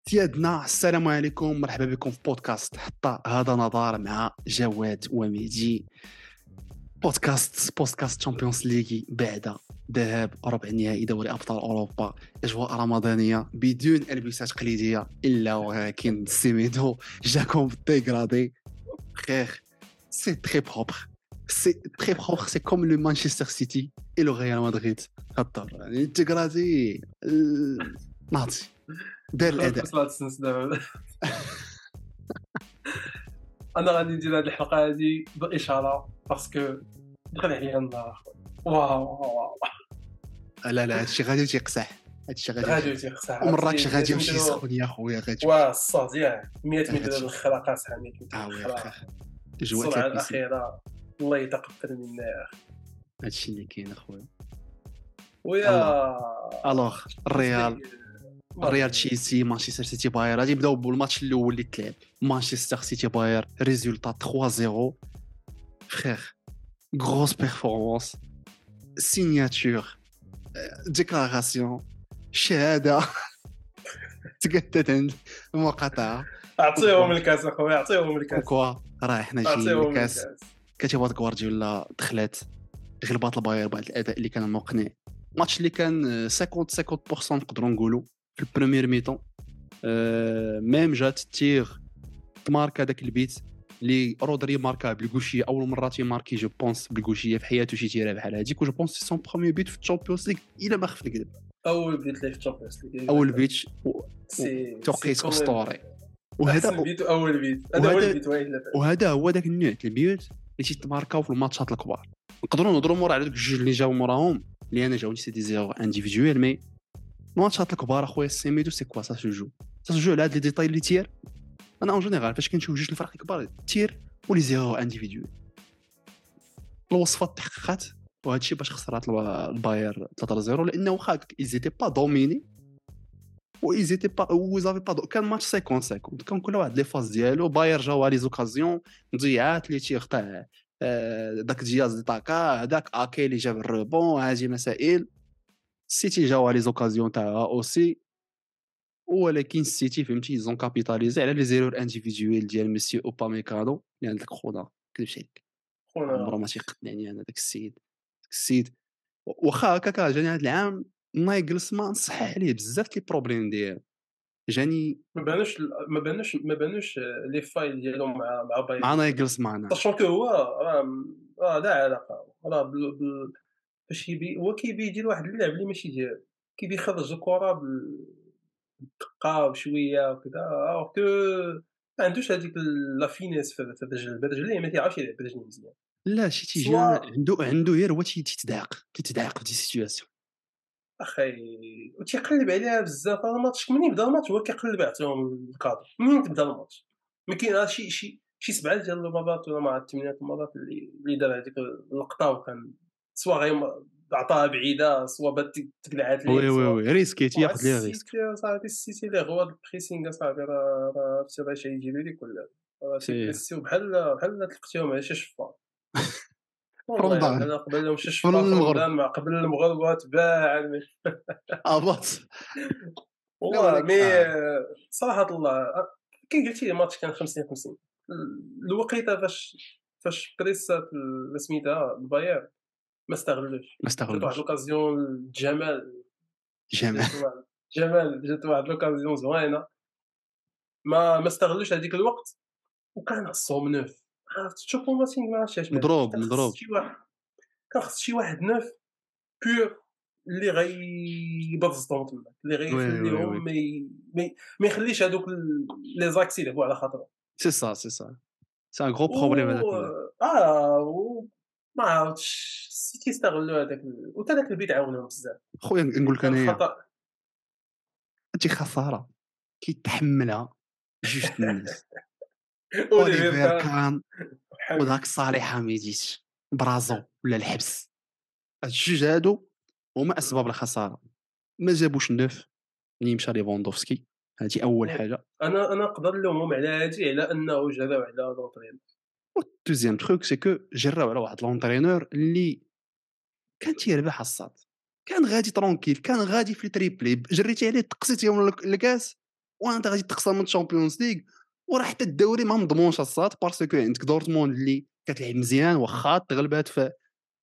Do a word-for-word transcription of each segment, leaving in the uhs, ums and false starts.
سيادنا السلام عليكم، مرحبا بكم في بودكاست حتى هذا نظار مع جواد وميدي. بودكاست بودكاست تشامبيونز ليغي بعد ذهاب ربع نهائي دوري ابطال اوروبا، اجواء رمضانيه بدون البسات تقليديه الا ولكن سيميدو جاكم ديغرادي خير. سي تري بروبر سي تري بروبر سي كوم لو مانشستر سيتي اي لو ريال مدريد. خطر يعني ديغرادي ناضي دار الاداء. انا غادي ندير هذه الحلقه هذه باشاره باسكو دخل عليا النار. واو واو لا لا هادشي غادي تيقصح، هادشي غادي غادي تيقصح ومراكش غادي يمشي يسخن يا خويا غادي واه الصوت ياك مية متر الخلاقه صاحبي اه ويا السرعه الاخيره الله يتقبل منا يا اخي. هادشي اللي كاين اخويا. ويا الوغ الريال الريال تشيلسي مانشستر سيتي باير غادي يبداو بالماتش الاول اللي تلعب. مانشستر سيتي باير ريزولطا ثلاثة صفر فخير. غروس بيرفورمانس سيناتور ديكلاراسيون شهاده تقدت عند المقاطعه. اعطيهم الكاس اخويا اعطيهم الكاس كوا راه حنا جايين الكاس. كتبغى غوارديولا دخلت غلبات الباير بعد الاداء اللي كان مقنع. ماتش اللي كان خمسين خمسين بالمية نقدروا نقولوا في البريمير ميطون. أه ميم جات تير ماركا داك البيت اللي رودري ماركا بالغوشيه اول مره تيماركي جو بونس بالغوشيه في حياته شي تيره بحال هذيك. وجو بونس سي سون بروميير بيت في الشامبيونز ليغ الا ما خفت نكذب. اول بيت لي في الشامبيونز ليغ اول بيت سي توقيت اسطوري. وهذا بيت اول بيت هذا هو البيت وهذا هو داك النوع البيوت اللي تيتماركاو في الماتشات الكبار. نقدروا نهضروا مورا على دوك الجوج اللي جاو موراهم اللي انا جاوني سي دي زيرو انديفيدويل. مي الماتشات الكبار اخويا سيميدو سي كوا سا سو جو سا سو جو على هاد لي ديتاي اللي تير. انا اون جينيرال فاش كنشوف جوج الفرق الكبار تير ولي زيرو انديفيدويل الوصفه تحققات. وهذا الشيء باش خسرات الباير ثلاثة صفر لانه واخا ايزيتي با دوميني وايزيتي با وزافي با كان ماتش خمسين خمسين كان كل واحد لي فاز ديالو. باير جاوا لي زوكازيون مضيعات اللي تيقطع داك دياز دي طاكا هذاك اكي اللي جاب الروبون هذه مسائل. السيتي جاوا لي زوكازيون تاعها اوسي ولكن السيتي فهمتي زون كابيتاليزي على لي زيرور انديفيدويل ديال ميسي اوباميكانو اللي عندك خونا كلشي عليك خونا عمره ما تيقتنعني انا داك السيد داك السيد واخا هكاكا جاني هذا العام نايغلس ما نصح عليه بزاف لي بروبليم ديالو. جاني ما بانوش ما بانوش ما بانوش لي فايل ديالو مع مع باير مع نايغلس معنا طاشون كو هو راه راه لا علاقه راه فاش يبي هو كيبي يدير واحد اللعب اللي ماشي ديالو. كيبي يخرج الكره بالدقه وشويه وكذا alors que ما عندوش هذيك لا فينيس في الرجل الرجل ما تيعرفش يلعب برجل مزيان. لا شي تيجي عنده عنده غير هو تيتدعق كيتدعق في دي سيتوياسيون اخي وتيقلب عليها بزاف. الماتش منين بدا الماتش هو كيقلب يعطيهم الكادر منين تبدا الماتش. ما كاين شي شي شي سبعه ديال المرات ولا مع الثمانيه المرات اللي اللي دار هذيك اللقطه وكان سوا غير عطاها بعيده سوا بات تقلعات ليه. وي وي وي ريسكي تياخذ ليه ريسك صافي السيتي اللي غوا البريسينغ صافي راه راه عرفتي راه شي يجيب لك ولا راه تيبريسيو بحال بحال تلقيتيهم على شي شفار. والله انا قبل لهم شي شفار رمضان مع قبل المغرب تباع اباط والله. مي صراحه الله كي قلتي الماتش كان خمسين خمسين الوقيته فاش فاش بريسات سميتها الباير ما استغلوش ما استغلوش واحد لوكازيون جمال جمال جمال جات واحد لوكازيون زوينه ما ما استغلوش هذيك الوقت وكان خصهم نوف. عرفت تشوفوا ماتينغ ما عرفتش مضروب مضروب شي واحد كان خص شي واحد نوف بور اللي غيبرزطهم تما اللي غيخليهم ما ما يخليش هذوك لي زاكسي يلعبوا على خاطرهم. سي سا سي سا سي ان غرو بروبليم هذاك. اه ما عرفتش السيتي استغلوا هذاك وتا داك البيت عاونهم بزاف خويا نقول لك انايا هادي خساره كيتحملها جوج الناس. اوليفير كان وداك صالح حميديت برازو ولا الحبس. هاد الجوج هادو هما اسباب الخساره. ما جابوش نوف اللي مشى ليفاندوفسكي هذه اول حاجه. انا انا نقدر نلومهم على هذه على انه جراو على لونطرينور. والدوزيام تروك سي كو جراو على واحد لونطرينور اللي كان تيربح الصاد كان غادي ترونكيل كان غادي في التريبلي جريتي عليه تقصيتيهم الكاس وانت غادي تخسر من الشامبيونز ليغ، وراه حتى الدوري ما مضمونش الصاد باسكو عندك دورتموند اللي كتلعب مزيان واخا تغلبات في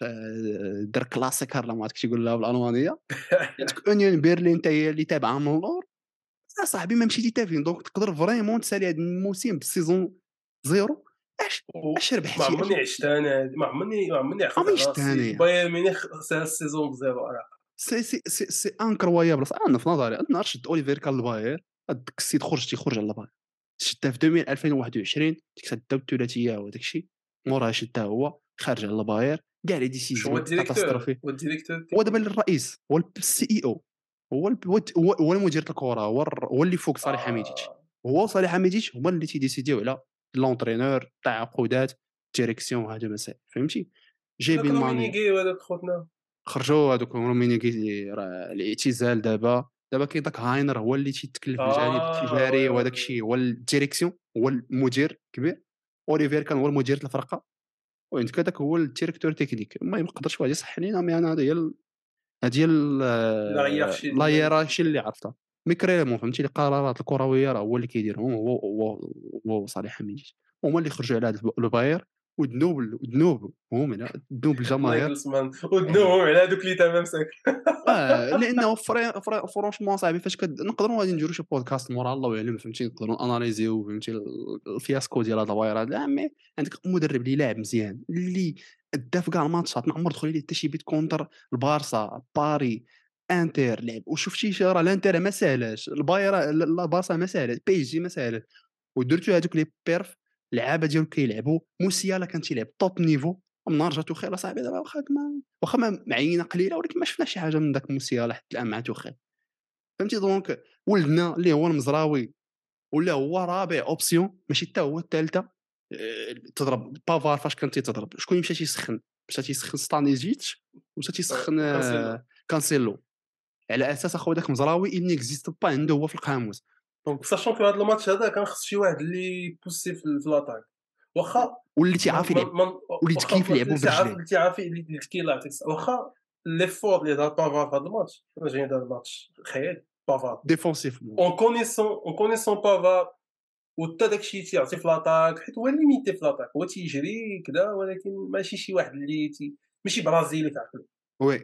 في دار كلاسيكر لا ما عرفتش يقول لها بالالمانيه. عندك اونيون بيرلين حتى هي اللي تابعه من اللور. صاحبي ما مشيتي حتى فين، دونك تقدر فريمون تسالي هذا الموسم بالسيزون زيرو. اش اش ما ربحتي عمرني عشت انا، ما عمرني ما عمرني عقلت عمريش على راسي ثانيه. بايرن ميونخ سال السيزون بزيرو. راه سي سي سي سي انكرويابل. انا في نظري النهار شد اوليفير كان الباير، هذاك السيد خرج تيخرج على الباير، شدها في ألفين ألفين وواحد وعشرين ديك الدو الثلاثيه وداك الشيء، موراها شدها هو خارج على الباير كاع لي شو هو ديسيزيون الديريكتور كاتاستروفي. هو الديريكتور هو دابا التكنيك. الرئيس، هو السي اي او، هو الب- هو الت- هو هو المدير ديال الكره، هو الر- هو اللي فوق صالح حميديتش. آه. هو صالح حميديتش هما اللي تيديسيديو على لونترينور، التعاقدات، الديريكسيون، هادو المسائل فهمتي. داك جايبين ماني، رومينيغي وهذاك خوتنا خرجوا هذوك رومينيغي، راه الاعتزال دابا. دابا كاين داك هاينر هو اللي تيتكلف بالجانب اه التجاري وي وهذاك وي الشيء، هو الديريكسيون، هو المدير الكبير. اوليفير كان هو المدير ديال الفرقه، وعندك هذاك هو الديريكتور تكنيك. ما يقدرش واحد يصح لينا، مي انا هذه هي ال- هذه هي لا غيرشي لا ديال هيرارشي اللي عرفتها. ميكريمون فهمتي، القرارات الكرويه راه هو اللي كيديرهم، هو هو هو صالح حميد، هما اللي خرجوا على هذا الباير. والذنوب الذنوب هم هنا، الذنوب الجماهير. نايغلسمان ودنوهم على هذوك اللي تمام ساك. اه لانه فري فري فرونشمون صاحبي، فاش كد نقدروا غادي نديروا شي بودكاست مورا الله يعلم فهمتي، نقدروا اناليزيو فهمتي ال- الفياسكو ديال هذا الواير هذا. مي عندك مدرب اللي لاعب مزيان اللي دا في كاع الماتشات، ما عمر دخل ليه حتى شي بيت كونتر البارسا، باري، انتر لعب. وشفتي شي راه الانتر ما ساهلاش، الباير لا البارسا ما ساهلاش، بي اس جي ما ساهلاش. ودرتو هذوك لي بيرف لعابه ديالو كيلعبوا. موسيالا كان تيلعب توب نيفو. من نهار جا توخيل اصاحبي دابا واخا ما واخا ما معينه قليله، ولكن ما شفناش شي حاجه من داك موسيالا حتى الان مع توخيل فهمتي. دونك ولدنا اللي هو المزراوي ولا هو رابع اوبسيون، ماشي حتى هو الثالثه. آه، تضرب بافار فاش كان تيتضرب، شكون اللي مشى تيسخن؟ مشى تيسخن ستانيجيتش، ومشى تيسخن وكانسيلو. آه، كانسيلو. على اساس اخو داك مزراوي il n'existe pas عنده هو في القاموس. دونك ساشون في هذا الماتش هذا كان خص شي واحد اللي بوسي في في لاطاك واخا واللي ما تيعرف ما يلعب، ما- وليت واخا كيف يلعبوا اللي تعرف برجليه. اللي تعرف اللي كيلعب يعطيك الصحة. واخا ليفور اللي دار بافار في هذا الماتش انا جاي دار الماتش خيال بافار ديفونسيفمون اون كونيسون اون كونيسون بافار وحتى داكشي تيعطي في لاطاك حيت هو ليميتي في لاطاك، هو تيجري كذا ولكن ماشي شي واحد اللي تي... ماشي برازيلي تعقل. وي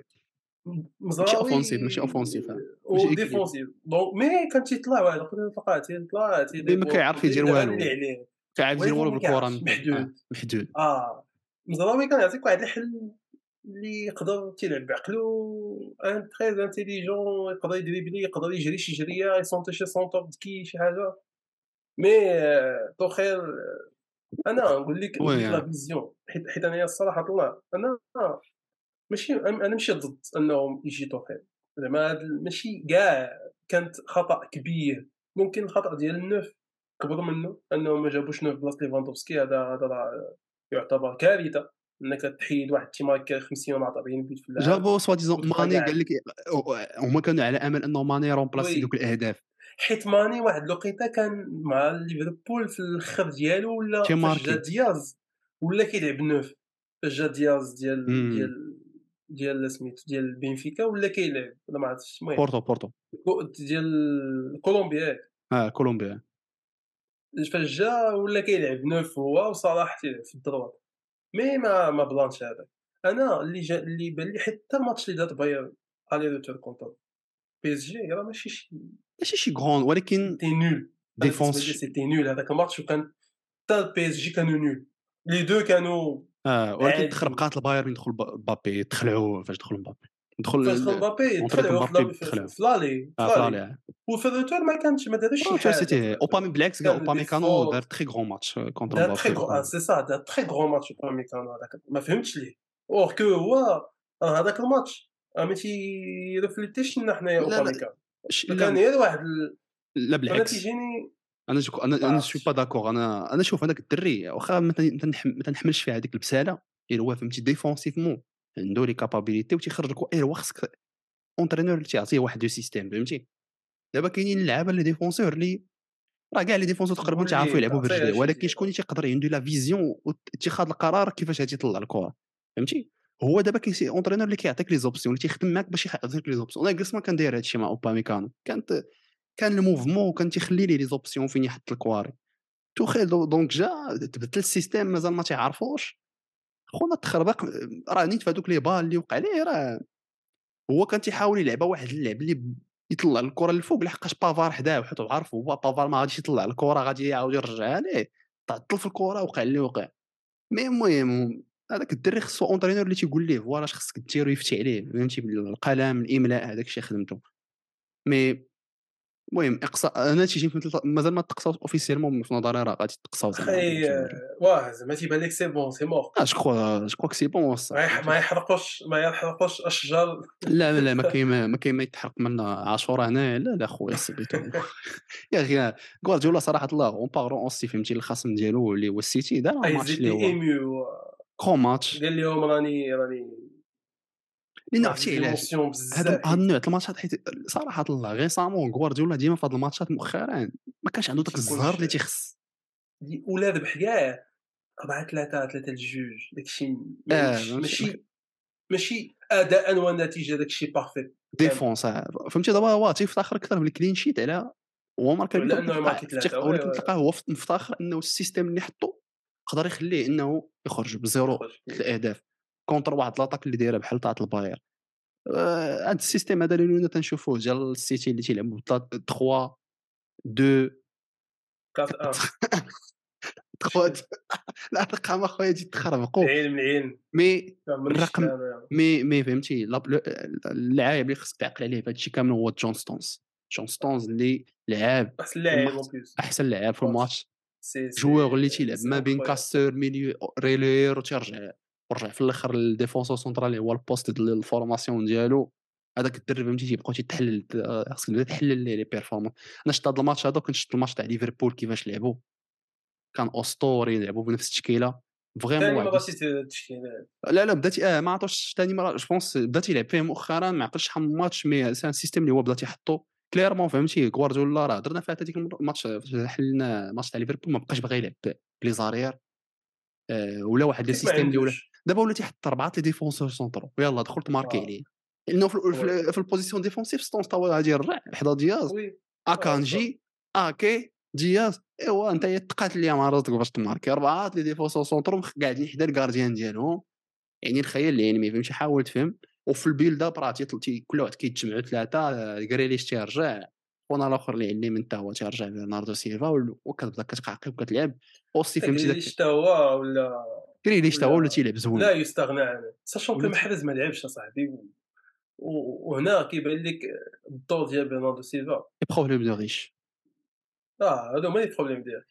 ماشي مزراوي اوفونسيف، ماشي اوفونسيف ماشي او اكيليبر. ديفونسيف دونك مي كان تيطلع واحد يقدر يطلع تيطلع مي ما تيديبور كيعرف يدير دابا اللي والو، عليه كيعرف يدير ولكن والو ما بالكره كيعرفش مزيان. اه محدود. محدود. اه مزراوي كان يعطيك واحد الحل اللي يقدر تيلعب بعقلو ان تري انتيليجون، يقدر يدريبلي، يقدر يجري شي جريه، يسونتي شي سونتور ذكي شي حاجه. مي آه، توخيل آه، انا نقول لك نقول لك وي لا فيزيون حيت حيت انا الصراحه الله انا آه، ماشي انا ماشي ضد انهم يجي توخيل زعما هاد ال- ماشي كاع كانت خطا كبير. ممكن الخطا ديال النوف كبر منه انهم ما جابوش نوف بلاصه ليفاندوفسكي، هذا هذا راه يعتبر كارثه انك تحيد واحد تيمايكر خمسين ولا أربعين بيت في اللعب جابوا سوا ديزون وتبقى ماني، قال كاع. لك هما كانوا على امل انه ماني يرومبلاسي دوك وي الاهداف. حيت ماني واحد الوقيته كان مع ليفربول في الاخر ديالو تي ولا فاش جا ماركي. دياز ولا كيلعب نوف. فاش جا دياز ديال امم ديال ديال سميتو ديال بنفيكا ولا كيلعب ولا ما عرفتش المهم بورتو بورتو. كو- ديال كولومبيا. اه كولومبيا. فاش جا ولا كيلعب نوف هو وصلاح تيلعب في الدروات. مي ما ما بلانش هذاك. انا اللي جا اللي بان لي حتى الماتش اللي دات بايرن الي روتور كونتر بي اس جي راه ماشي شي ماشي شي غون ولكن تي نول. انا بالنسبه لي ديفونس. سيتي نول هذاك الماتش، وكان حتى البي اس جي كانوا نول لي دو كانوا اه ولكن عاديين. تخربقات البايرن يدخل بابي، تخلعوا فاش دخل مبابي، فاش دخل دخل مبابي اونطري تخلعوا مبابي في تخلعوا. في لالي اه في لالي فلالي. وفي الروتور ما كانش ما داروش شي روتور حاجه في سيتي الروتور. اوبامي بالعكس كاع كان اوبامي كانوا دار ليفور تري غون ماتش كونتر دار تري مبابي غرو دخل. سي سا دار تري غرو ماتش برومي كان هذاك ما فهمتش ليه. اور كو هو راه هذاك الماتش راه ما تيرفليتيش لنا حنايا لا لا اوباميكان. ش- كان لا غير واحد ال... لا انا بالعكس. تيجيني انا جو انا ما انا شوي با عرفتش. داكور. انا انا شوف هذاك الدري واخا ما تن- تنح- ما تنحملش فيه هذيك البساله، غير هو فهمتي ديفونسيفمون عنده لي كابابيليتي وتيخرجك، غير هو خصك اونترينور اللي تيعطيه واحد دو سيستيم فهمتي. دابا كاينين اللعابه اللي ديفونسور اللي راه كاع لي ديفونسور تقريبا قول تيعرفوا ليه يلعبوا تعطيه برجليه، اش ولكن يدير. شكون اللي تيقدر عنده لا فيزيون واتخاذ القرار كيفاش غادي يطلع الكره فهمتي. هو دابا كاين اونترينور اللي كيعطيك لي زوبسيون، اللي تيخدم معاك باش يعطيك لي زوبسيون. انا جلس ما كان داير هادشي مع اوباميكانو، كانت كان الموفمون وكان تيخلي ليه لي زوبسيون فين يحط الكواري. توخيل دو دونك جا تبدل السيستيم مازال ما تيعرفوش. خونا تخربق راه نيت في هذوك لي بال اللي وقع ليه راه هو كان تيحاول يلعبها واحد اللعب اللي ب- يطلع الكره للفوق لحقاش بافار حداه وحيت عارف هو بافار ما غاديش يطلع الكره غادي يعاود يرجعها ليه تعطل في الكره وقع اللي وقع. مي المهم هذاك الدري خصو اونترينور اللي تيقول ليه فوالا اش خصك دير ويفتي عليه فهمتي بالقلم الاملاء هذاك الشيء خدمته. مي المهم اقصاء انا تيجي مثل مازال ما تقصاوش اوفيسيالمون في نظري راه غادي تقصاو زعما اخي فهمتي. آه، واه زعما تيبان لك سي بون سي مور. اه جو كخوا جو كخوا كو سي بون ما الصح يح- فهمتي. ما يحرقوش ما يحرقوش اشجار. لا لا ما كاين ما ما كاين ما يتحرق منا عاشوره هنا لا لا خويا سبيتو. يا اخي غوارديولا صراحه الله اون بارون اوسي فهمتي الخصم ديالو اللي هو السيتي دار اي ماتش زيد اللي لي هو ايميو. كرو ماتش. قال لهم راني راني لان واحد عرفتي علاش ليموسيون هاد بزاف هاد حيت النوع د الماتشات حيت صراحه الله غيسامون غوارديولا ديما في هاد الماتشات مؤخرا ما كانش عنده ما داك الزهر تيكونش اللي تيخص. دي- ولا ذبح كاع أربعة ثلاثة ثلاثة لجوج داكشي ما اه عندكش فهمتي ماشي ماشي اداء ونتيجه داكشي بارفيت كامل. ديفونس آه. فهمتي دابا هو تيفتخر اكثر بالكلين شيت على هو ماركا بيت ولا ولكن انه تلقاه ماركي ثلاثه افتخ- وي ولكن وي تلقاه هو مفتخر انه السيستم اللي حطو يقدر يخليه انه يخرج بزيرو يخرج ثلاث اهداف كونتر واحد لاطاك اللي دايره بحال تاع الباير. آه، هاد السيستيم هذا اللي ولينا تنشوفوه ديال السيتي اللي تيلعبوا ثلاثة اثنين اثنين أربعة واحد. ثلاثة لا الارقام اخويا تجي تخربقوا. العين من العين مي ما عمرني شفت الرقم انا. مي مي فهمتي لا- ل- اللاعب اللي خصك تعقل عليه في هادشي كامل هو جون ستونز. جون ستونز اللي لعب احسن في لاعب اون الماتش بليس احسن لاعب في ماتش. الماتش. سي سي جوور اللي تيلعب سي ما بين انكرويابل. كاستور ميليو ريلير وتيرجع ورجع في الاخر الديفونسور سونترال اللي هو البوست ديال الفورماسيون ديالو. هذاك الدرب فهمتي تيبقاو تيتحلل خاصك تبدا تحلل ليه لي بيرفورمانس. انا شفت هذا الماتش هذا كنت شفت الماتش تاع ليفربول كيفاش لعبوا كان اسطوري لعبوا بنفس التشكيله فريمون ثاني واحد مره الس- شفت التشكيله. لا لا بدات اه ما عطوش ثاني مره جو بونس بدا تيلعب فيه مؤخرا ما عقلتش شحال من ماتش مي سان سيستيم اللي هو بدا تيحطو كليرمون فهمتي غوارديولا راه درنا فيها هذيك الماتش فاش حلنا ماتش تاع ليفربول ما بقاش باغي يلعب بلي زارير. آه، ولا واحد لو حيت ما سيستيم اللي ولا عندوش. دابا ولا تيحط اربعه لي ديفونسور سونترو ويلا دخلت ماركي اه عليه لانه في وي في, في البوزيسيون ديفونسيف ستونز تا هو غادي يرجع حدا دياز وي اه صافي. اكانجي اكي دياز ايوا انت تقاتل مع راسك باش تماركي اربعه لي ديفونسور سونترو قاعدين حدا الكارديان ديالهم يعني الخيال العلمي فهمتي حاول تفهم. وفي البيلد اب راه تيطل- تي كل واحد كيتجمعوا ثلاثه غريليش تيرجع خونا الاخر اللي علمي من تا هو تيرجع برناردو سيلفا وال- وكتبدا كتقعقب وكتلعب اوسي فهمتي غريليش داك حتى هو ولا كريليش تا هو اللي ولا تيلعب لا زوين يستغنى عنه ساشون كو ولا تي- محرز ما لعبش اصاحبي و- و- وهنا كيبان لك الدور ديال برناردو سيلفا. لي بروبليم دو ريش اه هادو هما لي بروبليم ديالك.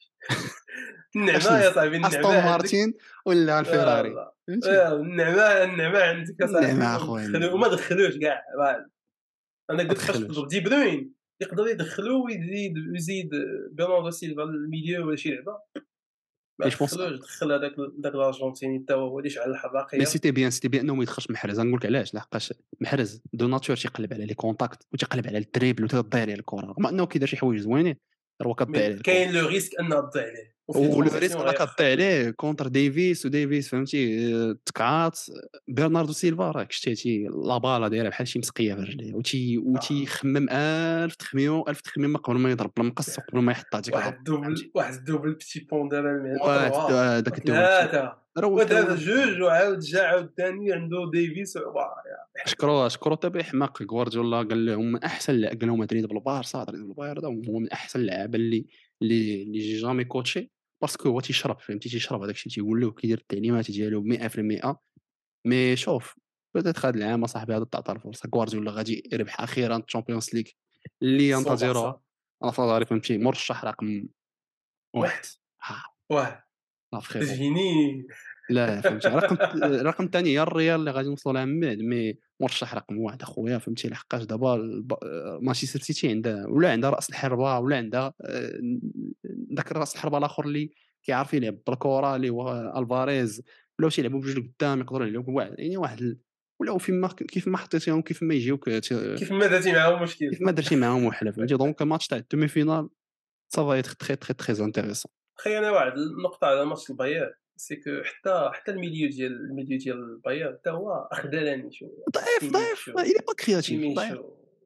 النعمه يا اشنز صاحبي النعمه استون عندك. مارتين ولا آه الفيراري لا فهمتي. آه النعمه النعمه عندك يا صاحبي النعمه اخويا ودخلوا النعمه وما دخلوش كاع بعد. انا ما قلت فاش تخلوش. تضرب دي بروين يقدر يدخلو ويزيد يزيد برناردو سيلفا الميليو ولا شي لعبه. ما مي جو بونس دخلوش دخل هذاك داك الارجنتيني حتى هو اللي شعل مي الحراقيه. سيتي بيان سيتي بيان انه ما يدخلش محرز نقول لك علاش لحقاش محرز دو ناتور تيقلب على لي كونتاكت وتيقلب على الدريبل وتضيع عليه الكره رغم انه كيدير شي حوايج زوينين راه هو كضيع مي عليه الكره. كاين لو ريسك انها تضيع عليه وفي لي ولو ريسك ترانزيسيون راه كضيع غيخرب لك. عليه كونتر ديفيس وديفيس فهمتي آه، تكعات. برناردو سيلفا راك شتيتي لا بالا دايره بحال شي مسقيه في رجليه وتي آه. وتيخمم الف تخميم الف تخميم قبل ما يضرب المقص وقبل ما يحط هذيك واحد الضربه الدوبل فهمتي. واحد الدوبل بتي بوندال المهم واحد وتروها داك الدوبل بشي وثلاثه راه هو حتى وثلاثه هو جوج وعاود جا عاود ثاني عنده ديفيس واه يا شكرو شكرو تبع حماق غوارديولا قال لهم من احسن لا- قال لهم هذا بالبارسا هذا بالبايرن هو من احسن اللعابه اللي اللي اللي جي جامي كوتشي باسكو هو تيشرب فهمتي تيشرب هذاك الشيء تيقول له كيدير التعليمات ديالو مية في المية. مي شوف بدات هذا العام اصاحبي هذا تعطى الفرصه غوارديولا غادي يربح اخيرا الشامبيونز ليغ اللي ينتظرها. مية بالمية. انا في نظري فهمتي مرشح رقم واحد. واحد ها واه لا فريمون تجيني. لا فهمتي رقم رقم ثاني هي الريال اللي غادي نوصلوا لها من بعد مي مرشح رقم واحد اخويا فهمتي لحقاش دابا الب- مانشستر سيتي عندها ولا عندها راس الحربه ولا عندها آه، ذاك راس الحربه الاخر اللي كيعرف يلعب بالكره اللي هو الفاريز ولاو تيلعبوا بجوج قدام يقدروا يلعبوا واحد يعني واحد ال- ولاو فيما كيف ما حطيتيهم كيف ما يجيوك ت- كيف ما درتي معاهم مشكل. كيف ما درتي معاهم وحله فهمتي دونك الماتش تاع الدومي فينال سافا يتر تري تري تري انتريسون. خي انا واحد النقطه على ماتش البايرن سي كو حتى حتى الميليو ديال الميليو ديال البايرن حتى هو خذلاني شويه. ضعيف ضعيف كيميتشو il est pas créatif ضعيف كيميتشو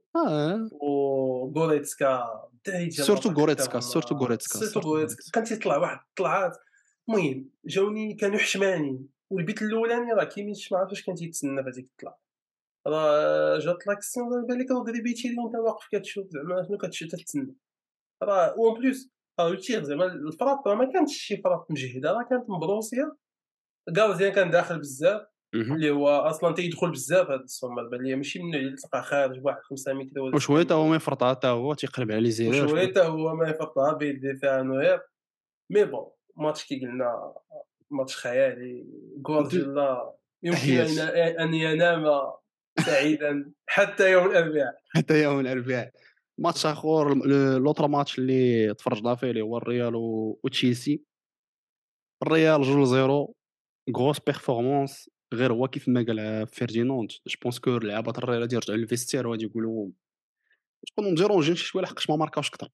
اه وغوريتسكا الدراري ديال سورتو لاباك غوريتسكا حتى سورتو هما غوريتسكا سيرتو سورتو غوريتسكا غوريتسكا كان تيطلع واحد الطلعات. المهم جاوني كانوا حشمانين، والبيت الاولاني راه كيميتش ما عرفتش كان تيتسنى في هذيك الطلعه. راه جات لاكسيون دابا بالك راه دريبيتي وانت واقف كتشوف زعما شنو كتشوف تتسنى. راه اون بليس راه التير زعما الفراب راه ما كانتش شي فراب مجهده، راه كانت مبروسيه. كارديان كان داخل بزاف، مهم. اللي هو اصلا تيدخل بزاف هاد السومر، بان ليا ماشي من النوع اللي تلقى خارج بواحد خمسة متر ولا ستة وشويه تا هو متر. ما يفرط حتى هو تيقلب على لي زيرو وشويه شويه. حتى هو ما يفرطها بيدي فيها نوير. مي بون ماتش كي قلنا ماتش خيالي. غوارديولا يمكن ان تحيات ان ينام سعيدا حتى يوم الاربعاء. حتى يوم الاربعاء. ماتش اخر ل- لوطر ماتش اللي تفرجنا فيه اللي هو الريال و- وتشيلسي. الريال جوج زيرو، غروس بيرفورمانس. غير هو كيف ما قال فيرديناند، جو بونس كو لعابه الريال غادي يرجعوا للفيستير وغادي يقولوا تكونوا مزيرونجين شي شويه لحقاش ما ماركاوش اكثر.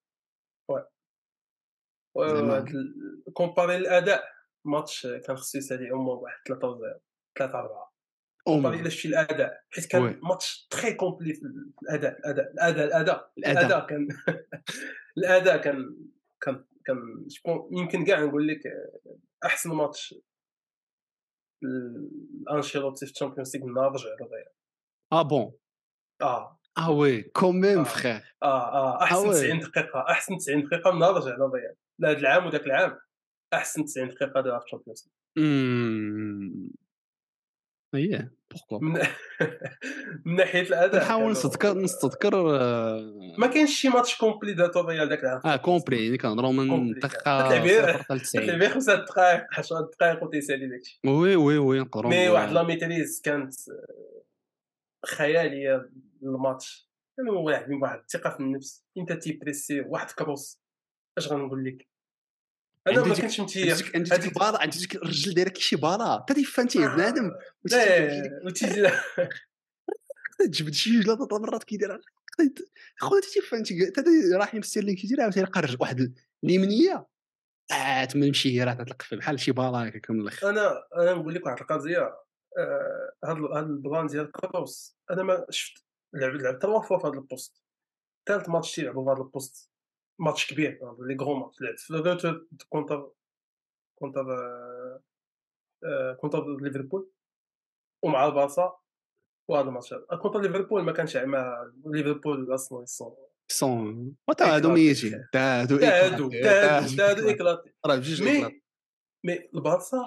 وهاد زعما ال- كومباري الاداء ماتش كان خصو يسالي امه بواحد ثلاثة صفر ثلاثة أربعة. كومباري اومو الا شفتي الاداء، حيت كان وي ماتش تري كومبلي في الاداء الاداء الاداء الاداء الاداء. الاداء كان الاداء كان كان كان شكون يمكن كاع نقول لك احسن ماتش لانشيلوتي في الشامبيونز ليغ من نهار رجع للريال. اه بون اه اه وي كوميم اه فخير. اه اه اه احسن وي تسعين دقيقه احسن تسعين دقيقه من نهار رجع للريال. لا هذا العام وذاك العام احسن تسعين دقيقه دارها في الشامبيونز امم اييه بوركوا من با. من ناحيه الاداء كنحاول كانوا نستذكر نستذكر ما آه، كاينش شي ماتش كومبلي داتو الريال داك العام في اه الشامبيونز ليغ. كومبلي يعني كنهضروا من كومبلي كان تتلعب دقيقة غير صفر حتى تتلعب تسعين. غير خمسة دقائق عشرة دقائق وتيسالي داكشي. وي وي وي نقدروا مي واحد نقولها. لا ميتريز كانت خياليه للماتش. كانوا واحدين بواحد الثقه في النفس، انت تيبريسي واحد كروس. اش غنقول لك، انا عنده ما ديك كنتش عنده متيق ديك عنده ديك هذيك. البالا، عنده ديك الرجل دايره كيشي بالا حتى تيفانتيه بنادم آه، وتيجي تيجي لا لك وتيجي تجبد شي جوج ثلاث مرات كيدير خويا تيفانتي حتى راح يمستيرلين كيدير عاوتاني يلقى الرجل واحد اليمنيه آه تما يمشي هي راه تتلقف بحال شي بالا هكاك من الاخر. انا انا نقول لك واحد القضيه. آه، هاد ال- هاد البلان ديال كروس انا ما شفت. لعب لعب تروا فوا في هاد البوست. ثالث ماتش تيلعبوا في هاد البوست، ماتش كبير لي غرو ماتش. لعب في روتو كونتر كونتر آه، آه، كونتر ليفربول ومع البارسا. وهذا الماتش هذا كونتر ليفربول ما كانش مع ليفربول اصلا يصون سون وتا هادو اكلاتي ميتين فخير. تا هادو تاهدوا ايكلاتي تا تاهدوا هادو تاهدوا ايكلاتي اكلاتي. راه بجوج ايكلات. مي مي البارسا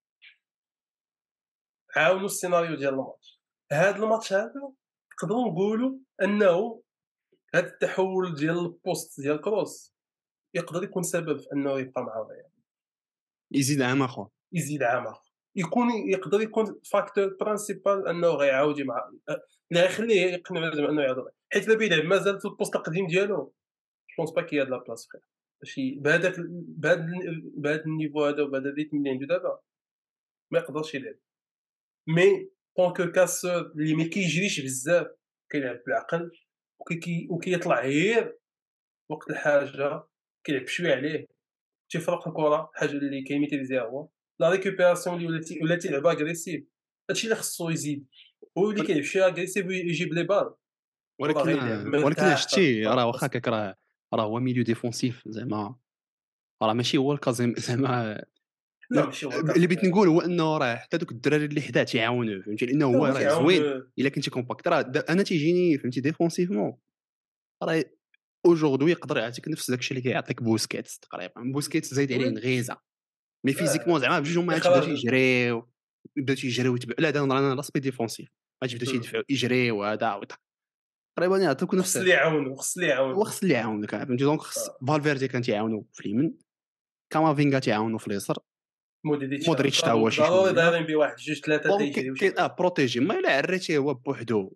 عاونوا السيناريو ديال الماتش. هاد الماتش هذا نقدروا نقولوا انه هاد التحول ديال البوست ديال كروس يقدر يكون سبب في انه يبقى مع الريال يزيد عام اخر. يزيد عام اخر. يكون يقدر يكون فاكتور برانسيبال انه غيعاود مع اللي غيخليه يقنع زعما انه يعاود. حيت الا بيلعب مازال في البوست القديم ديالو جوبونس با كي هاد لا بلاص فخير ماشي بهذاك بهذا بهذا النيفو هذا وبهذا الريتم اللي عنده دابا ما يقدرش يلعب. مي طونكو كاسور اللي ما كيجريش بزاف كيلعب بالعقل وكي وكيطلع غير وقت الحاجه كيلعب شويه عليه تيفرق الكره. حاجه اللي كيميتريزيها هو لا ريكوبيراسيون اللي ولاتي ولا تيلعب اغريسيف. هادشي اللي خصو يزيد. هو اللي كيلعب شويه اغريسيف ويجيب لي بال وراه ولكن غيلعب ولكن مرتاح في هاد شتي راه واخا البلاصه. هكاك راه راه هو ميليو ديفونسيف زعما راه ماشي هو الكازيم زعما. لا ماشي هو اللي بغيت كازيميرو. نقول هو انه راه حتى دوك الدراري اللي حداه تيعاونوه فهمتي لانه لا هو هو راه زوين تيعاون. الا كنتي كومباكت. راه دا- انا تيجيني فهمتي ديفونسيفمون راه اوجوردي يقدر يعطيك نفس داكشي اللي كيعطيك بوسكيتس تقريبا. بوسكيتس زايد عليه وي نغيزه مي اه فيزيكمون زعما بجوج هما هادشي بداو اخراج. تيجريو بداو تيجريو يتبع لا دا انا لاسبي ديفونسيف غادي يبداو مم. تيدفعوا يجريو هذا وتا- تقريبا يعطيوك وخص نفس. اللي يعاونو خص اللي هو يعاونو. خص اللي يعاونك فهمتي دونك خص آه. فالفيردي كان تيعاونو في اليمين، كامافينغا تيعاونو في اليسار، مودريتش مودريتش حتى هكا هو شي ضروري شويه. دايرين بواحد جوج ثلاثه دونك كاين تيجريو كاين اه شويه. بروتيجي ما الا عريتيه هو بوحدو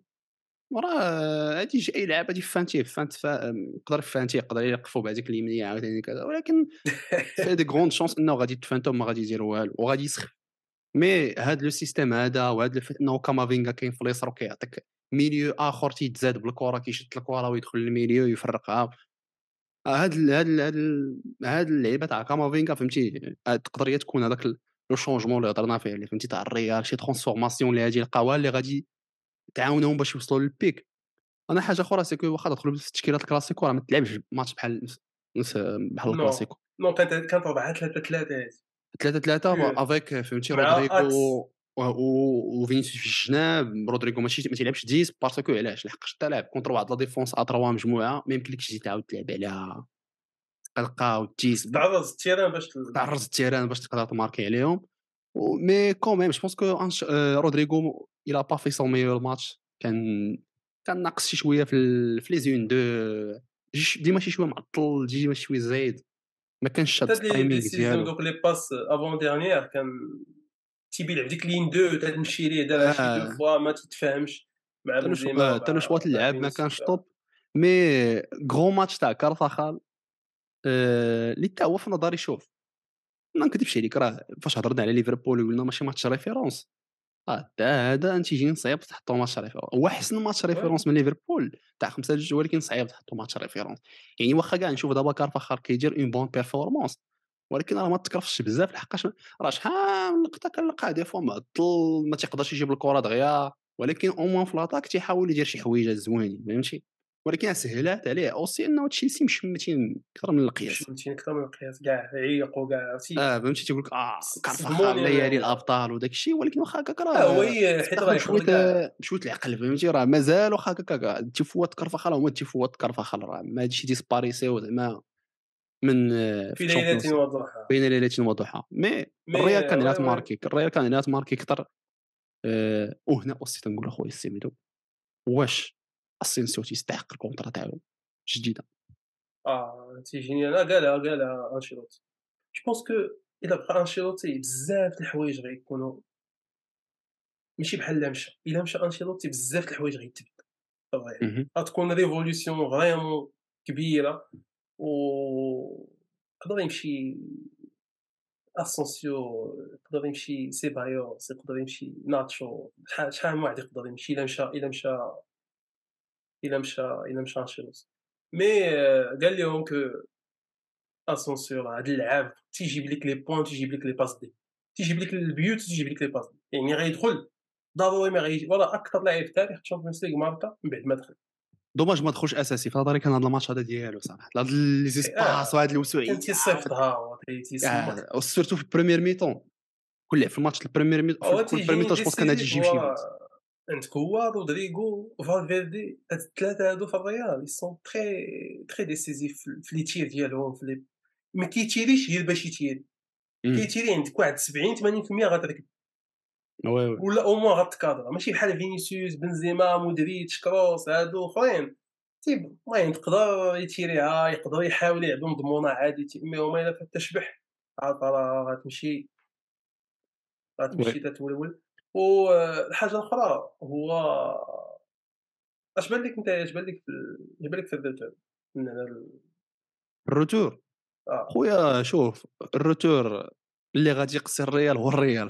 راه غادي يجي اي لعب غادي فانتيه فانت فا... يقدر يفانتيه يقدر يلقفو بهذيك اليمنيه عاوتاني كذا ولكن في دي غروند شونس انه غادي تفانتو ما غادي يدير والو وغادي يسخف. مي هاد لو سيستيم هذا وهاد الفت انه كامافينغا كاين في اليسار وكيعطيك ميليو اخر تيتزاد بالكره كيشد الكره ويدخل للميليو يفرقها. آه، هاد ال هاد ال هاد ال هاد اللعيبه تاع كامافينغا فهمتي آه، تقدر هي تكون هذاك ال- لو شونجمون اللي هضرنا فيه اللي فهمتي تاع الريال شي ترانسفورماسيون اللي غادي يلقاوها اللي غادي تعاونهم باش يوصلوا للبيك. انا حاجه اخرى سيكو واخا تدخل في التشكيلات الكلاسيكو راه ما تلعبش ماتش بحال نفس نفس بحال نو، الكلاسيكو. نو كانت كانت أربعة ثلاثة ثلاثة هذه ثلاثة ثلاثة بيور افيك فهمتي مع رودريغو أكس. و و وفينيسيوس في الجناب. رودريغو ماشي ما تيلعبش عشرة باسكو علاش لحقاش انت لاعب كونتر واحد لا ديفونس ا ثلاثة مجموعه ما يمكنلكش تجي تعاود تلعب عليها تلقى خصك وتيس تعرض التيران باش تل تعرض التيران باش تقدر تماركي عليهم. و مي كون ميم جو بونس كو أنش... آه، رودريغو il a pas fait son meilleur match. كان كان ناقص شي شويه في ال... في لي زون دو جي- ديما شي شويه معطل ديما شي شويه زايد ما كانش شاد حتى هاد لي التايمينغ ديسيزيون ديالو. دوك لي باس افون ديرنيير كان تيبي يلعب ديك لين دو تتمشي ليه دارها شي دو اه فوا ما تتفاهمش مع حتى لو شو- بنزيما آه، حتى لو ومع شوط مع اللعب ما فينيسيوس. كانش طوب. مي غرو ماتش تاع كارفاخال آه، اللي حتى هو في نظري شوف ما نكذبش عليك راه فاش هضرنا على ليفربول وقلنا ماشي ماتش ريفيرونس. اه دا هذا انت تيجي صعيب تحطو ماتش ريفيرونس. هو احسن ماتش وي ريفيرونس من ليفربول تاع خمسة جوج ولكن صعيب تحطو ماتش ريفيرونس. يعني واخا كاع نشوف دابا كارفاخال كيدير اون بون بيرفورمانس ولكن راه ما تكرفش بزاف لحقاش راه شحال من لقطه كنلقاه دي فوا معطل ما تيقدرش يجيب الكره دغيا. ولكن او موان في لاطاك تيحاول يدير شي حويجات زوينين فهمتي. ولكن سهلات عليه اوسي انه تشيلسي مشمتين اكثر من القياس. مشمتين أكتر من القياس كاع عيقوا كاع عرفتي اه فهمتي تيقول لك اه ص كارفاخال صدموني ليالي أنايا. الابطال وداك الشيء ولكن واخا هكاك لا هو راه ي خصك حيت راه تاخذ بشويه يقدر كاع بشويه العقل فهمتي. راه مازال واخا هكاك التفوات كارفاخال هما التفوات كارفاخال راه ما هادشي ديسباريسيو زعما من آه، في في ليلة الشامبيونز وضحاها. بين ليله وضحى. مي الريال مي كان عليها وي وي تماركي الريال كان عليها تماركي اكثر. آه، وهنا اوسي تنقول اخويا السيميدو واش اسينسيو تيستحق الكونترا تاعو جديده. آه تيجيني أنا قالها قالها أنشيلوتي. جو بونس كو إلا بقى أنشيلوتي بزاف د الحوايج غيكونوا ماشي بحال لا مشى. إلا مشى أنشيلوتي بزاف د الحوايج غيتبدلوا صافي. مهم. غتكون ريفولوسيون فريمون كبيرة و يقدر يمشي اسونسيو، يقدر يمشي سيبايوس، يقدر يمشي ناتشو، شحال شحال من واحد يقدر يمشي الا مشى الا مشى الا مشى الا مشى انشيلوتي. مي آه، قال لهم كو اسونسيو راه هاد اللعاب تيجيب لك لي بوين تيجيب لك لي باس دي، تيجيب لك البيوت تيجيب لك لي باس دي، يعني غيدخل ضروري ما غيجي ولا اكثر لاعب في تاريخ الشامبيونز ليغ ماركا من بعد ما دخل. دوماج ما دخلش اساسي في نظري. كان هذا الماتش هذا ديالو صراحه هاد لي اه زيسباس وهاد كان الوسوعيه تيصيفطها هو تي- تيسمك. آه، سورتو في البريمير ميطون كل لعب في الماتش البريمير ميطون في هو كل بريمير تيجيني ميطون جو بونس كان هادي ديسيزيف يجيب هو شي بيت. راه عندك هو رودريغو فالفيردي هاد الثلاثه هادو في الريال يي سون تري تري ديسيزيف في لي تير ديالهم في لي ما كيتيريش غير باش يتيري، امم كيتيري عندك واحد سبعين ثمانين بالمية غتركب وي وي ولا او موان غتكادرا ماشي بحال فينيسيوس بنزيما مودريتش كروس هادو اخرين تيب المهم يقدر يتيريها يقدر يحاول يلعب مضمونه عادي تي- مي هما الا فات تشبح عاد راه غتمشي وي غتمشي تتولول. والحاجه الاخرى هو اش بان لك انت اش بان لك في اش بان لك في الروتور من هذا ال- الروتور اه خويا شوف الروتور اللي غادي يقصي الريال هو الريال.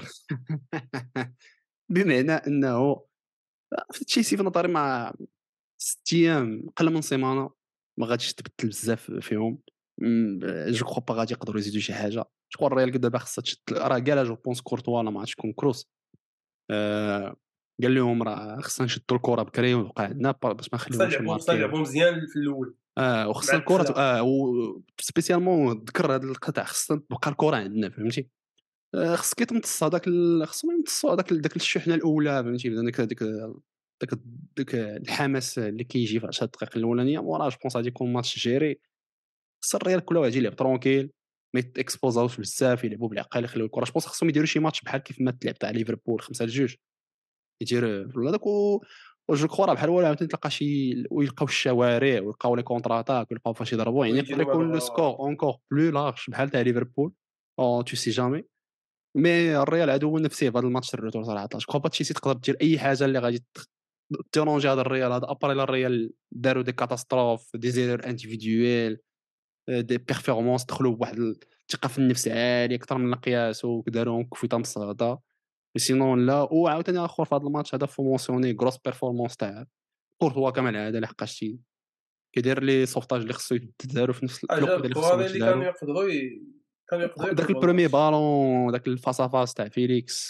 بمعنى انه في تشيلسي في نظري مع ست ايام قل من سيمانه ما غاديش تبدل بزاف فيهم. م- جو كخوا با غادي يقدروا يزيدوا شي حاجه. شكون الريال قد دابا خاصها تشد راه كاع جو بونس كورتوا لا ما عرفتش شكون كروس آه قال لهم راه خصنا نشدوا الكره بكري ونبقى عندنا با- باش ما خصنا نخليوهمش نلعبوا خصنا يماركيو. نلعبوا مزيان في الاول اه مع وخصنا الكره ت- الدخله. اه وسبيسيالمون ذكر هذا القطع خصنا تبقى الكره عندنا فهمتي. آه خصك تمتص هذاك ال... خصهم يمتصوا هذاك ال- داك الشحنه الاولى فهمتي ديك ديك داك داك الحماس اللي كيجي في عشر دقائق الاولانيه وراه جو بونس غادي يكون ماتش جيري. خص الريال كله غادي يلعب ترونكيل ما يتاكسبوزاوش بزاف يلعبوا بالعقل يخليو الكره. جو بونس خصهم يديروا شي ماتش بحال كيف ما تلعب تاع ليفربول خمسة لجوج يدير هذاك و وجو كخوا راه بحال هو عاوتاني تلقى شي ويلقاو الشوارع ويلقاو لي كونتراتاك ويلقاو فاش يضربوا يعني يقدر ويجيو يكون لو هذا سكور اونكور بلو لارج بحال تاع ليفربول او تو سي جامي. مي الريال عدو نفسي في هذا الماتش الروتور صراحه. جو كخوا با تشيلسي تقدر دير اي حاجه اللي غادي تيرونجي هذا الريال هذا ابري لا الريال داروا دي كاتاستروف دي زيرور انديفيديويل دي بيرفورمانس دخلوا بواحد الثقه في النفس عاليه اكثر من القياس وداروهم كفيطه مصغده. سينون لا وعاوتاني اخر في هذا الماتش هذا فو مونسيوني غروس بيرفورمانس تاع كورتوا كما العاده لحقاش تي كيدير لي سوفتاج اللي خصو يتداروا في نفس في الوقت جاب اللي خصهم الكواري اللي كانوا يتداروا. يقدروا ي... كانوا يقدروا داك يقلبوا البروميي الماتش. بالون داك الفاس افاس تاع فيليكس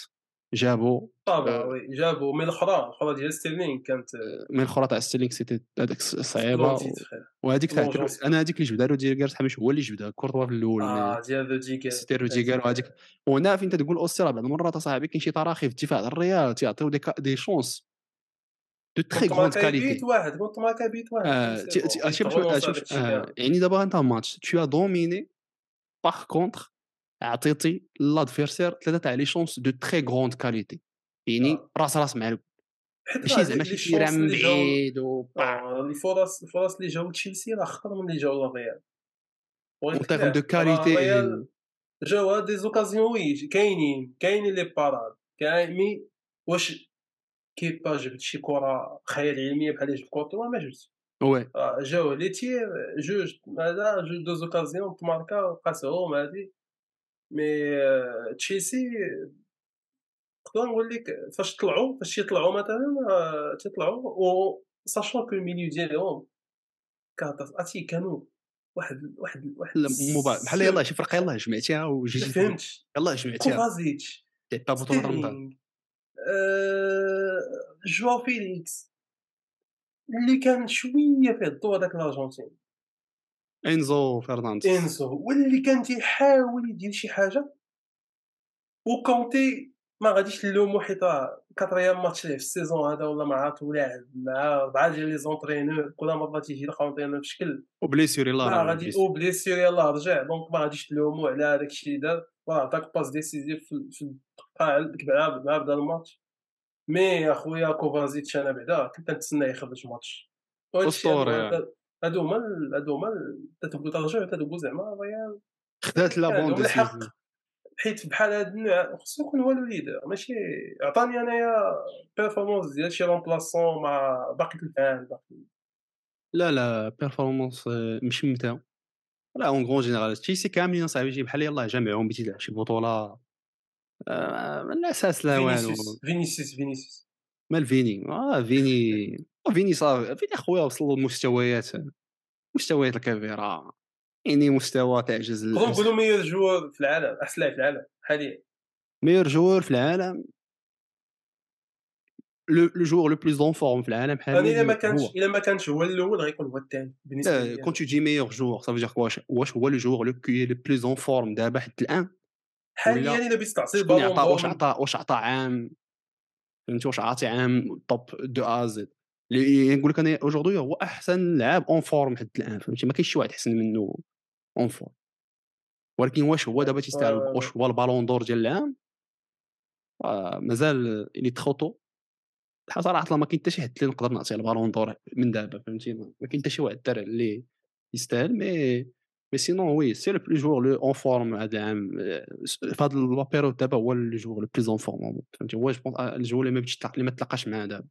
جابوا طبعا آه، وي جابوا من الاخرى الاخرى ديال ستيرلينغ كانت من الاخرى تاع ستيلينغ سيتي هذاك صعيبه سبلونتيت و... فخير وهذيك تاع بلونجون انا هذيك اللي جبدها روديغر صاحبي هو اللي جبدها كورتوا في الاول مي اه ديال روديغر سيتي روديغر هذيك وهذيك. وهنا فين تقول اوسترا بعض المرات اصاحبي كاين شي تراخي في الدفاع ديال الريال تيعطيو دي, كا... دي شونس دو تري كنت غروند ماركاي بيت كاليتي. واحد كنت ماركاي بيت واحد صافي آه... سي تي... بون تي... شوف شوف تغونونسا شوف داك الشيء آه... كامل يعني دابا انت ماتش تو دوميني باغ كونتر عطيتي لادفيرسير ثلاثه تاع لي شونس دو تري غروند كاليتي يعني آه. راس راس مع الكل حيت راه ماشي لي زعما لي شي تيران شونس من اللي جاو بعيد و با آه، الفرص الفرص اللي جاو تشيلسي راه خطر من اللي جاو للريال اون بغيت لك تيرم دو كاع راه كاليتي. الريال جاو دي زوكازيون وي كاينين كاينين لي باراد كاين مي واش كيبا جبد شي كره خيال علميه بحال اللي جبد كورتوا ما جبدش وي آه، جاو لي تير جوج هذا جوج دو زوكازيون تماركا قاسهم هادي مي آه، تشيلسي نقدر نقول لك فاش طلعوا فاش يطلعوا مثلا آه، تيطلعوا و ساشون كو الميليو ديالهم كان عرفتي كانوا واحد واحد واحد لا مبا... بحال السر يلاه شي فرقه يلاه جمعتيها ما وجيتي تقول فهمتش يلاه جمعتيها كوفازيتش لعبتها بطوله رمضان. ستيرلينغ آآ جواو فيليكس اللي كان شويه فيه الضو هذاك الارجنتيني انزو فرنانديز. إنسو واللي كان تيحاول يدير شي حاجه وكونتي ما غاديش نلومو حيت راه كاتريام ماتش ليه في السيزون هذا ولا ما عرفت ولاعب مع أربعة ديال لي زونطرينور كل مره تيجي لونطرينور بشكل وبليسيور يلاه ما راه غادي بليسيور. او بليسيور يلاه رجع دونك ما غاديش تلومو على هذاك الشيء اللي دار راه عطاك باس ديسيزيف في في الدقه ديك مع مع بدا الماتش مي اخويا كوفازيتش انا بعدا كنت نتسنى يخرج ماتش وهذا الشيء هادو اسطوري هما هادو هما ال- هادو هما ال- تتبقى ترجع تتبقى زعما الريال خدات لا كان بون عندهم الحق ديسيزيون. حيت بحال هاد النوع خصو يكون هو الوليدر ماشي عطاني انايا بيرفورمانس ديال شي رومبلاسون مع باقي العام باقي لا لا بيرفورمانس مشمته. لا اون غون جينيرال تشيلسي كاملين اصاحبي شي بحال يلاه جامعهم بيتي تلعب شي بطوله آه، من الاساس لا والو. فينيسيوس فينيسيوس فينيسيوس مال فيني اه فيني فيني صافي فيني اخويا وصل لمستويات مستويات الكبيره يعني مستوى تعجز نقدروا ال- نقولوا ميور جوور في العالم احسن لاعب في العالم حاليا ميور جوور في العالم. لو لو جوور لو بلوس اون فورم في العالم انا الا حاليا ما هو. كانش الا ما كانش هو الاول غيكون هو الثاني بالنسبه لا لي كون انا تو دي ميور جوور صافي دير واش واش هو لو جوور لو كي لو بلوس اون فورم دابا حتى الان حاليا ولا الا بغيت تعطي شكون البالون يعطى دور واش من عطى واش عطى عام فهمتي واش عاطي عام توب دو ا زد اللي نقول لك انا اجوردي هو احسن لاعب اون فورم حتى الان فهمتي ما كاينش شي واحد احسن منه اون فورم. ولكن واش هو دابا تيستاهل واش هو البالون دور ديال العام آه مازال اللي تخوتو صراحه ما كاين حتى شي حد اللي نقدر نعطيه البالون دور من دابا فهمتي ما ما كاين حتى شي واحد دار اللي يستاهل مي مي سينون وي سي لو بلو جوور لو اون فورم هذا العام آه، في هذا لابيريود دابا هو لو جوور لو بلوز اون فورم فهمتي هو جو بونس الجوور اللي ما بغيتش تلاقى- اللي ما تلاقاش معاه دابا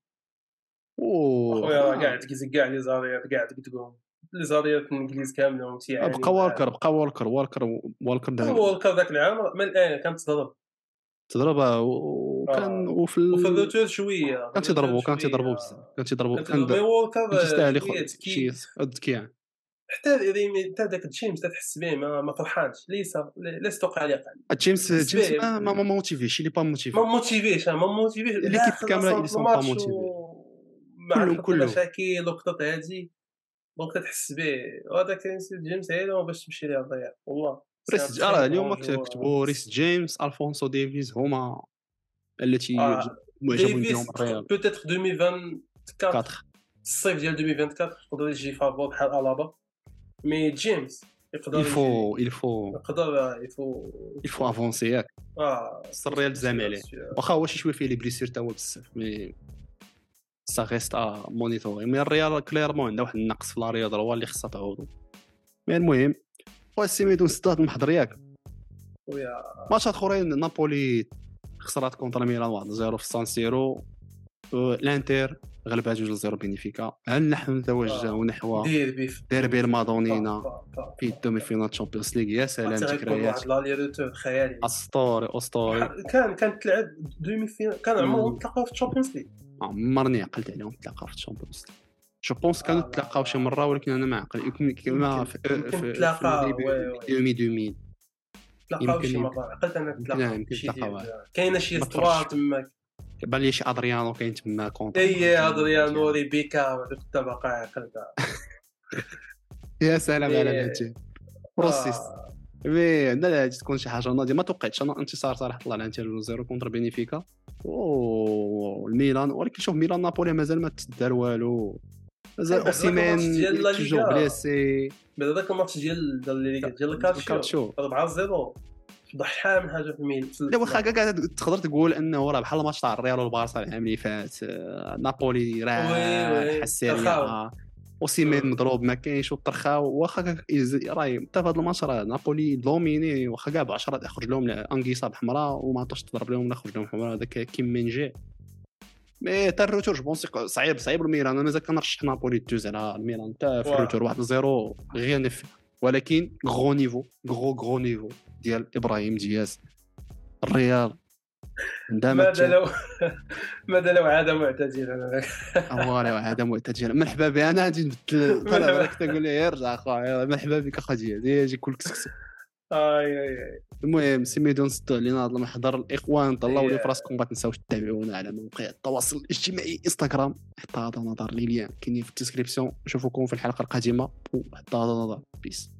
و اخويا راه كاع آه، تكزك كاع لي زاريات كاع تقول لي زاريات الانجليز كاملين بقى تيعانيو مع والكر بقى والكر والكر والكر دابا الورلد ذاك العام من الان كانت تضرب تضربها وكان اه وفي وفي ال... الروتور شويه في كان الروتور تيضربوا كان شويه تيضربوا بزاف كان تيضربوا كانت كان تضرب مي د- كان وولكر تيستاهل شويه ياخذ شي ذكي ذكي يعني. حتى ريمي حتى داك جيمس تحس به ما, ما فرحانش ليس ليس توقع عليه قال جيمس تحس جيمس به ما ما ما موتيفيش اللي با ما موتيفي موتيفيش ما موتيفيش لا ليكيب خلى كامله اللي صامت سون با الماتش موتيفي ومع كلهم خط كلهم المشاكل وخطط هادي دونك تحس به وهذاك جيمس هيدا باش تمشي ليه الضياع والله سي ان ريس تري اه غران اليوم جوار كتبوا ريس جيمس الفونسو ديفيز هما التي يعجب اه معجبون بهم ديفيس الريال بوتيتر ألفين وأربعة وعشرين أربعة. الصيف ديال ألفين وأربعة وعشرين يقدر يجي فافور بحال الابا مي جيمس il يقدر يجي faut il faut يقدر يفو il faut avancer ياك اه خص الريال تزعم عليه واخا هو شي شويه فيه لي بليسير تا هو بزاف مي سا ريست ا مونيتوري مي الريال كليرمون عنده واحد النقص في لا رياض هو اللي خصها تعوضو. مي المهم خويا سيميدو سداد المحضر ياك ويا ماتشات اخرين نابولي خسرات كونتر ميلان واحد صفر في سان سيرو الانتر غلبها جوج صفر بينيفيكا هل نحن نتوجه نحو ديربي ديربي المادونينا في الدومي فينال تشامبيونز ليغ يا سلام تيكون واحد ذكريات لالي روتور خيالي اسطوري اسطوري كان كانت تلعب دومي فينال كان عمرهم تلاقاو في الشامبيونز ليغ عمرني عقلت عليهم تلاقاو في الشامبيونز ليغ جو بونس كانوا آه، تلاقاو شي مره ولكن انا ما عقل يمكن كما في يمكن في تلاقاو، في وي، وي. ديبي ألفين تلاقاو شي يمكن مرة عقلت انا يمكن تلاقاو يمكن شي ديال تلقاو كاينه شي ما استوار تفرجش. تماك. كيبان لي شي ادريانو كاين تما كونتر اي مالديني ادريانو فهمتي. ريبيكا هذوك الطبقه عقلتها يا سلام على مي الانتي بروسيس. اه مي عندنا هادي تكون شي حاجه ناضيه. ما توقعتش انا انتصار صراحه طلع الانتر جوج صفر كونتر بينيفيكا والميلان، ولكن شوف ميلان نابولي مازال ما تدار والو، مازال بعد ذاك الماتش اوسيمان ديال لا توجور ليغا، بليسي. بعد ذاك الماتش ديال ديال لا ليغا ديال الكالشيو الكالتشيو أربعة صفر فضح شحال من حاجه في الميل. لا واخا كاع تقدر تقول انه راه بحال الماتش تاع الريال والبارسا العام اللي فات، آه، نابولي وي راح وي السيريا ترخاو. اوسيمان مم. مضروب ما كاينش وطرخاو. واخا كاع إز- راهي حتى في هذا الماتش راه نابولي دوميني، واخا كاع ب عشرة يخرج لهم انغيسا بحمراء وما عطاش تضرب لهم لا خرج لهم حمراء هذاك كيم مينجي. مي تا الروتور جو بونسي صعيب صعيب الميلان. انا مازال كنرشح نابولي دوز على الميلان حتى في واه. الروتور واحد صفر غير نف، ولكن غرو نيفو غرو غرو نيفو ديال ابراهيم دياز. الريال عندما ماذا لو ماذا لو عاد معتزلا؟ اموالي وهذا معتدل مرحبا بي. انا غادي نبدل طلع بالك تقول لي ارجع اخويا مرحبا بك اخا ديال يجي كل كسكس. اي اي اي المهم سميدو نسدو علينا هذا المحضر. الاخوان طلعوا لي Yeah. فراسكم ما تنساوش تتابعونا على مواقع التواصل الاجتماعي انستغرام حتى هذا نظر لي ليان كاينين في الديسكريبسيون. نشوفكم في الحلقه القادمه وحتى هذا نظر بيس.